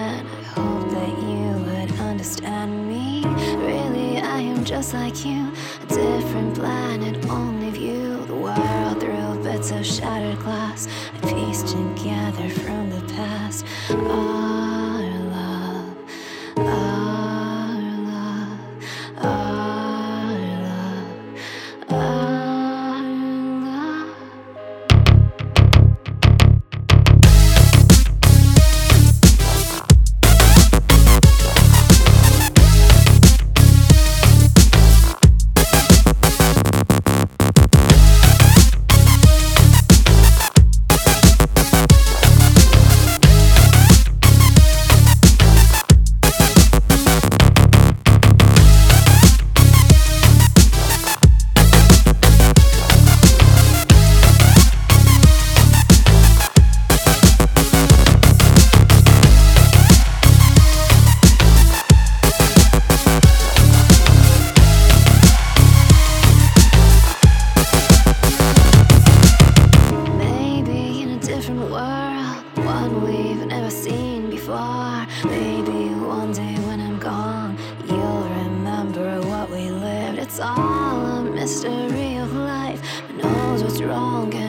and I hope that you would understand me. Really, I am just like you, a different planet, only view the world through bits of shattered glass I pieced together from the past. Our love, our love, our love, our love. One we've never seen before. Maybe one day when I'm gone, you'll remember what we lived. It's all a mystery of life. Who knows what's wrong?